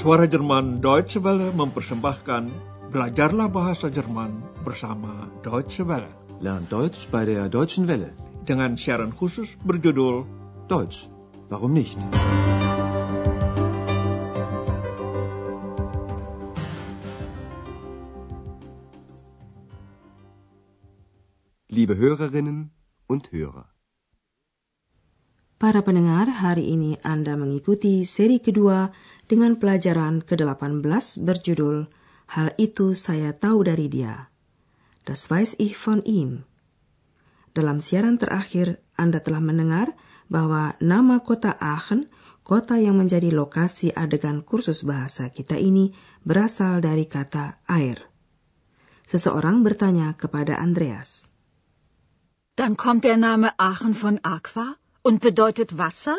Suara Jerman Deutsche Welle mempersembahkan Belajarlah Bahasa Jerman bersama Deutsche Welle. Lernt Deutsch bei der Deutschen Welle. Dengan siaran khusus berjudul Deutsch, warum nicht? Liebe Hörerinnen und Hörer. Para pendengar, hari ini Anda mengikuti seri kedua dengan pelajaran ke-18 berjudul Hal itu saya tahu dari dia. Das weiß ich von ihm. Dalam siaran terakhir, Anda telah mendengar bahwa nama kota Aachen, kota yang menjadi lokasi adegan kursus bahasa kita ini, berasal dari kata air. Seseorang bertanya kepada Andreas. Dann kommt der Name Aachen von Aqua und bedeutet Wasser?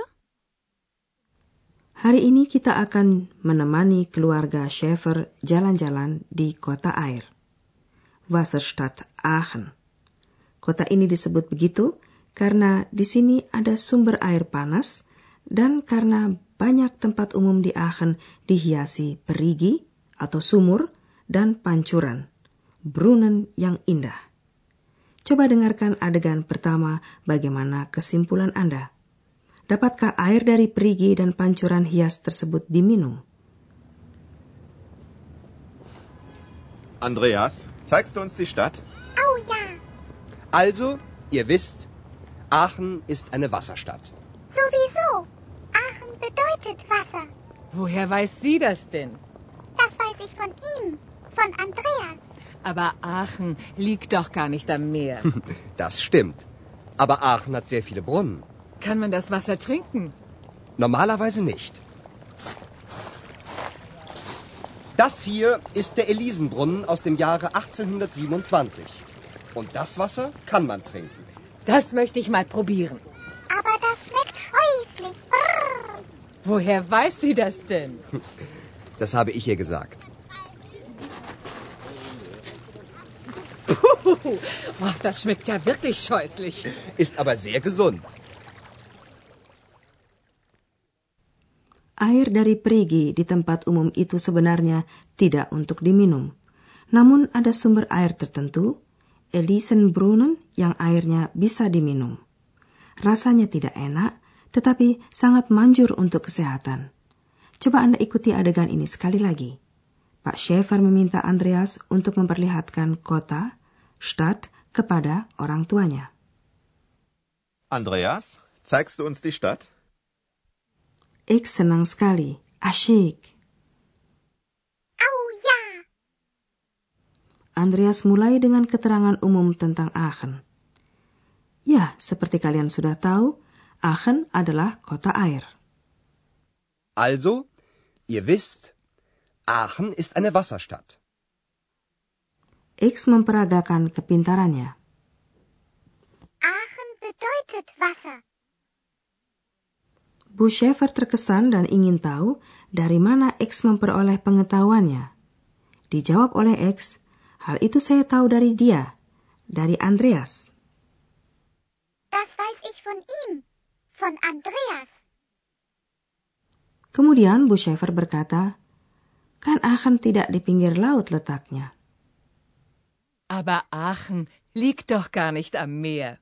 Hari ini kita akan menemani keluarga Schäfer jalan-jalan di kota air. Wasserstadt Aachen. Kota ini disebut begitu karena di sini ada sumber air panas dan karena banyak tempat umum di Aachen dihiasi perigi atau sumur dan pancuran, brunnen yang indah. Coba dengarkan adegan pertama, bagaimana kesimpulan Anda. Dapatkah air dari perigi dan pancuran hias tersebut diminum? Andreas, zeigst du uns die Stadt? Oh ja. Also, ihr wisst, Aachen ist eine Wasserstadt. Sowieso. Aachen bedeutet Wasser. Woher weiß sie das denn? Das weiß ich von ihm, von Andreas. Aber Aachen liegt doch gar nicht am Meer. Das stimmt. Aber Aachen hat sehr viele Brunnen. Kann man das Wasser trinken? Normalerweise nicht. Das hier ist der Elisenbrunnen aus dem Jahre 1827. Und das Wasser kann man trinken. Das möchte ich mal probieren. Aber das schmeckt scheußlich. Brrr. Woher weiß sie das denn? Das habe ich ihr gesagt. Puh, oh, das schmeckt ja wirklich scheußlich. Ist aber sehr gesund. Air dari perigi di tempat umum itu sebenarnya tidak untuk diminum. Namun ada sumber air tertentu, Elisenbrunnen, yang airnya bisa diminum. Rasanya tidak enak, tetapi sangat manjur untuk kesehatan. Coba Anda ikuti adegan ini sekali lagi. Pak Schäfer meminta Andreas untuk memperlihatkan kota, Stadt, kepada orang tuanya. Andreas, zeigst du uns die Stadt? Ik senang sekali. Asyik. Oh ja. Andreas mulai dengan keterangan umum tentang Aachen. Ya, seperti kalian sudah tahu, Aachen adalah kota air. Also, ihr wisst, Aachen ist eine Wasserstadt. X memperagakan kepintarannya. Aachen bedeutet Wasser. Bu Schäfer terkesan dan ingin tahu dari mana X memperoleh pengetahuannya. Dijawab oleh X, hal itu saya tahu dari dia, dari Andreas. Das weiß ich von ihm, von Andreas. Kemudian Bu Schäfer berkata, kan Aachen tidak di pinggir laut letaknya. Aber Aachen liegt doch gar nicht am Meer.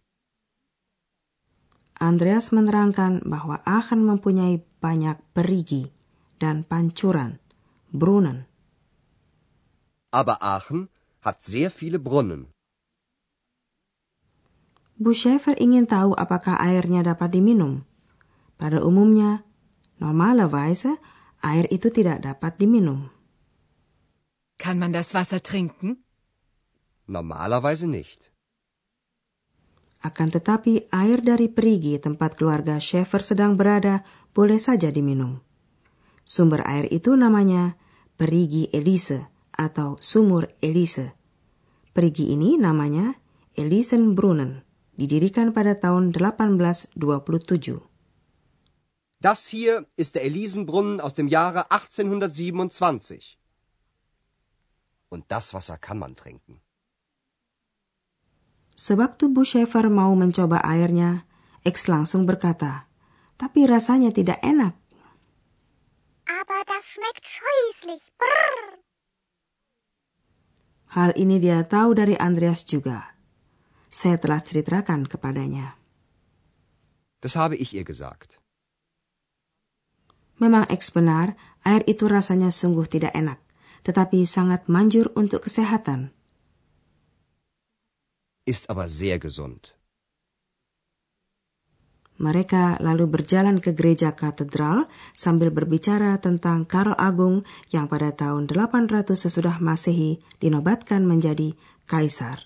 Andreas menerangkan bahwa Aachen mempunyai banyak perigi dan pancuran, brunnen. Aber Aachen hat sehr viele Brunnen. Bu Schäfer ingin tahu apakah airnya dapat diminum. Pada umumnya, normalerweise, air itu tidak dapat diminum. Kann man das Wasser trinken? Normalerweise nicht. Akan tetapi air dari perigi tempat keluarga Schäfer sedang berada boleh saja diminum. Sumber air itu namanya Perigi Elise atau Sumur Elise. Perigi ini namanya Elisenbrunnen, didirikan pada tahun 1827. Das hier ist der Elisenbrunnen aus dem Jahre 1827. Und das Wasser kann man trinken. Sewaktu Bu Schäfer mau mencoba airnya, X langsung berkata, tapi rasanya tidak enak. Aber das schmeckt scheußlich. hässlich. Brrr. Hal ini dia tahu dari Andreas juga. Saya telah ceritakan kepadanya. Das habe ich ihr gesagt. Memang X benar, air itu rasanya sungguh tidak enak, tetapi sangat manjur untuk kesehatan. Ist aber sehr gesund. Mereka lalu berjalan ke gereja katedral sambil berbicara tentang Karl Agung yang pada tahun 800 sesudah Masehi dinobatkan menjadi kaisar.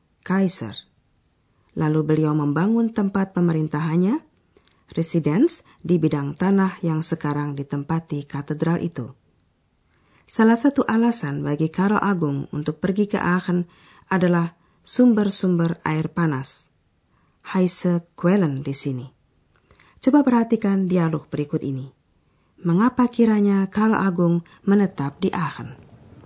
Lalu beliau membangun tempat pemerintahannya, residence di bidang tanah yang sekarang ditempati katedral itu. Salah satu alasan bagi Karl Agung untuk pergi ke Aachen adalah sumber-sumber air panas. Heiße Quellen di sini. Coba perhatikan dialog berikut ini. Mengapa kiranya Karl Agung menetap di Aachen?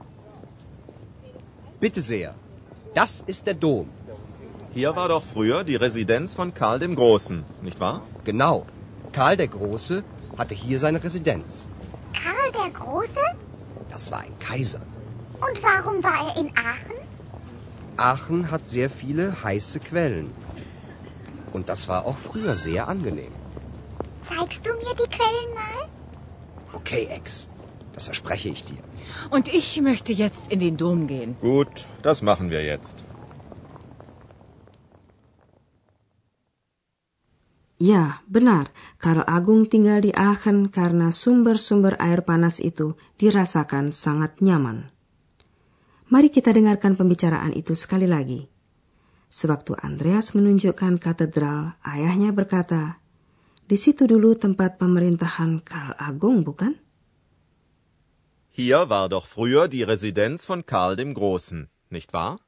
Bitte sehr. Das ist der Dom. Hier war doch früher die Residenz von Karl dem Großen, nicht wahr? Genau. Karl der Große hatte hier seine Residenz. Karl der Große? Das war ein Kaiser. Und warum war er in Aachen? Aachen hat sehr viele heiße Quellen. Und das war auch früher sehr angenehm. Zeigst du mir die Quellen mal? Okay, Ex. Das verspreche ich dir. Und ich möchte jetzt in den Dom gehen. Gut, das machen wir jetzt. Ya, benar. Karl Agung tinggal di Aachen karena sumber-sumber air panas itu dirasakan sangat nyaman. Mari kita dengarkan pembicaraan itu sekali lagi. Sewaktu Andreas menunjukkan katedral, ayahnya berkata, "Di situ dulu tempat pemerintahan Karl Agung, bukan?" Hier war doch früher die Residenz von Karl dem Großen, nicht wahr?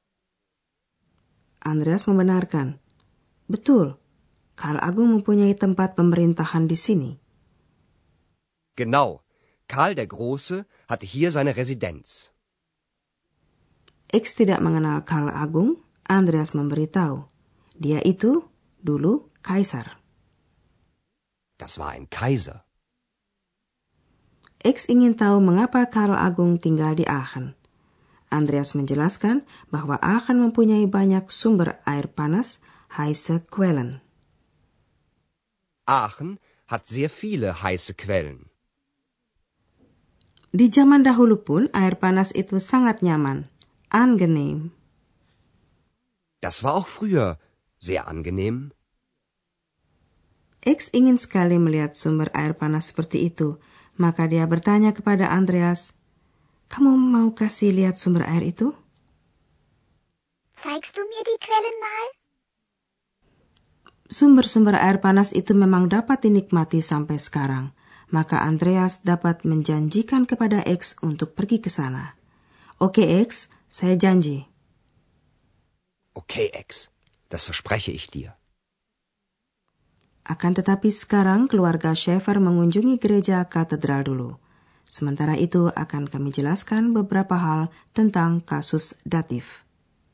Andreas membenarkan, "Betul. Karl Agung mempunyai tempat pemerintahan di sini." Genau. Karl der Große hatte hier seine Residenz. X tidak mengenal Karl Agung, Andreas memberitahu. Dia itu dulu kaisar. Das war ein Kaiser. X ingin tahu mengapa Karl Agung tinggal di Aachen. Andreas menjelaskan bahwa Aachen mempunyai banyak sumber air panas, heiße Quellen. Aachen hat sehr viele heiße Quellen. Di zaman dahulu pun air panas itu sangat nyaman, angenehm. Das war auch früher sehr angenehm. X ingin sekali melihat sumber air panas seperti itu, maka dia bertanya kepada Andreas, "Kamu mau kasih lihat sumber air itu?" Zeigst du mir die Quellen mal? Sumber-sumber air panas itu memang dapat dinikmati sampai sekarang, maka Andreas dapat menjanjikan kepada X untuk pergi ke sana. Oke, X, saya janji. Okay, Ex. Das verspreche ich dir. Akan tetapi sekarang keluarga Schäfer mengunjungi gereja katedral dulu. Sementara itu akan kami jelaskan beberapa hal tentang kasus datif.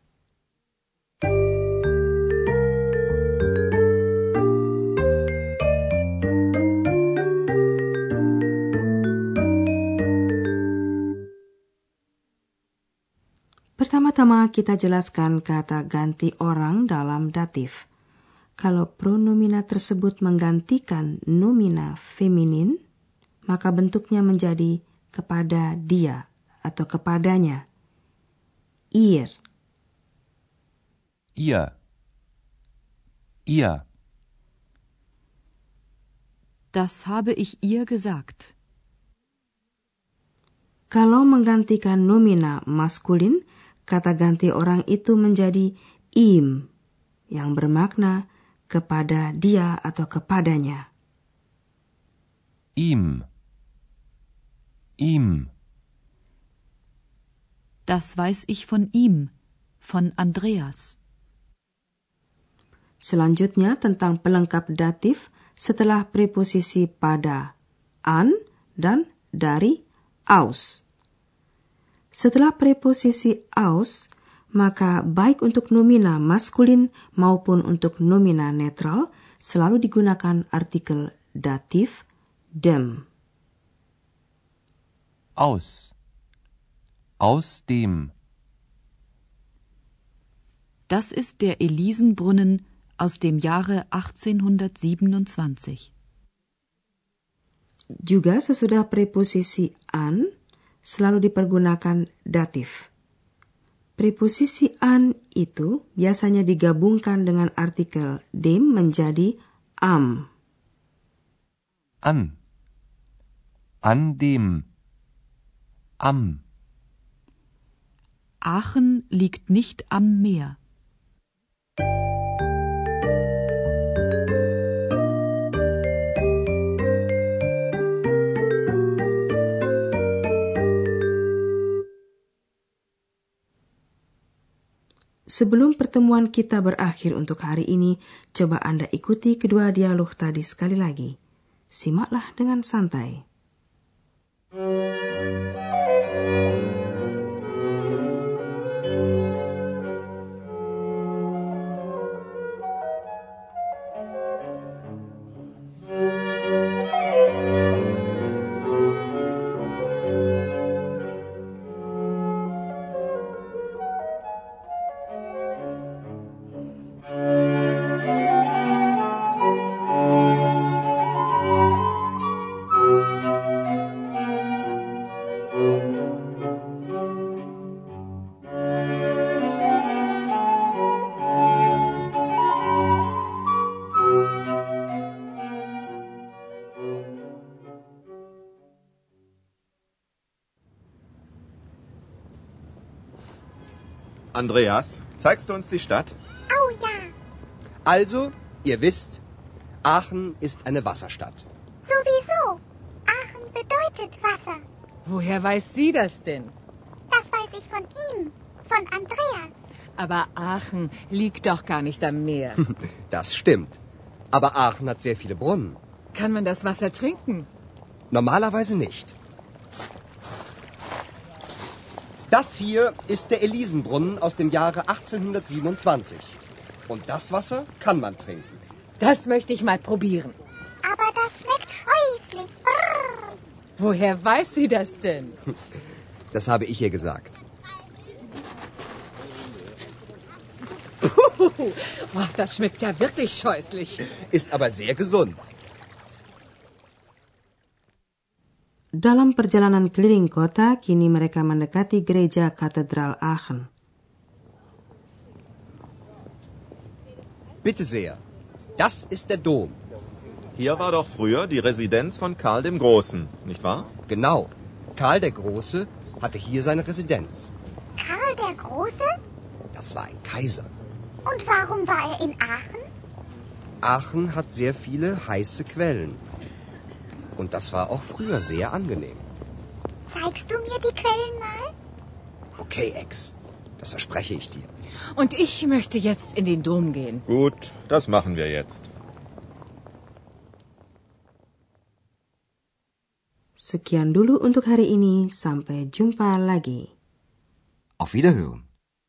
Pertama-tama kita jelaskan kata ganti orang dalam datif. Kalau pronomina tersebut menggantikan nomina feminin, maka bentuknya menjadi kepada dia atau kepadanya. Ihr. Ihr. Ihr. Das habe ich ihr gesagt. Kalau menggantikan nomina maskulin, kata ganti orang itu menjadi ihm, yang bermakna kepada dia atau kepadanya. Ihm. Ihm. Das weiß ich von ihm, von Andreas. Selanjutnya tentang pelengkap datif setelah preposisi pada, an, dan dari, aus. Setelah preposisi aus, maka baik untuk nomina maskulin maupun untuk nomina netral selalu digunakan artikel datif dem. Aus. Aus dem. Das ist der Elisenbrunnen aus dem Jahre 1827. Juga sesudah preposisi an selalu dipergunakan datif. Preposisi an itu biasanya digabungkan dengan artikel dem menjadi am. An. An dem. Am. Aachen liegt nicht am Meer. Sebelum pertemuan kita berakhir untuk hari ini, coba Anda ikuti kedua dialog tadi sekali lagi. Simaklah dengan santai. Andreas, zeigst du uns die Stadt? Oh ja, Also, ihr wisst, Aachen ist eine Wasserstadt. sowieso. Aachen bedeutet Wasser. Woher weiß sie das denn? Das weiß ich von ihm, von Andreas. Aber Aachen liegt doch gar nicht am Meer. Das stimmt. Aber Aachen hat sehr viele Brunnen. Kann man das Wasser trinken? Normalerweise nicht. Das hier ist der Elisenbrunnen aus dem Jahre 1827. Und das Wasser kann man trinken. Das möchte ich mal probieren. Aber das schmeckt scheußlich. Brrr. Woher weiß sie das denn? Das habe ich ihr gesagt. Oh, das schmeckt ja wirklich scheußlich. Ist aber sehr gesund. Dalam perjalanan keliling kota, kini mereka mendekati gereja Katedral Aachen. Bitte sehr. Das ist der Dom. Hier war doch früher die Residenz von Karl dem Großen, nicht wahr? Genau. Karl der Große hatte hier seine Residenz. Karl der Große? Das war ein Kaiser. Und warum war er in Aachen? Aachen hat sehr viele heiße Quellen. Und das war auch früher sehr angenehm. Zeigst du mir die Quellen mal? Okay, Ex. Das verspreche ich dir. Und ich möchte jetzt in den Dom gehen. Gut, das machen wir jetzt. Sekian dulu untuk hari ini, sampai jumpa lagi. Auf Wiederhören.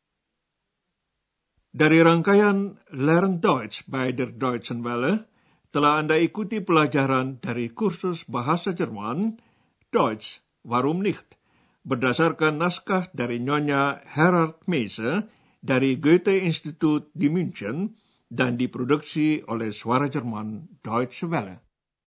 Dari rangkaian Lern Deutsch bei der Deutschen Welle, telah Anda ikuti pelajaran dari kursus bahasa Jerman, Deutsch, warum nicht, berdasarkan naskah dari Nyonya Herard Meise dari Goethe-Institut di München dan diproduksi oleh Suara Jerman Deutsche Welle.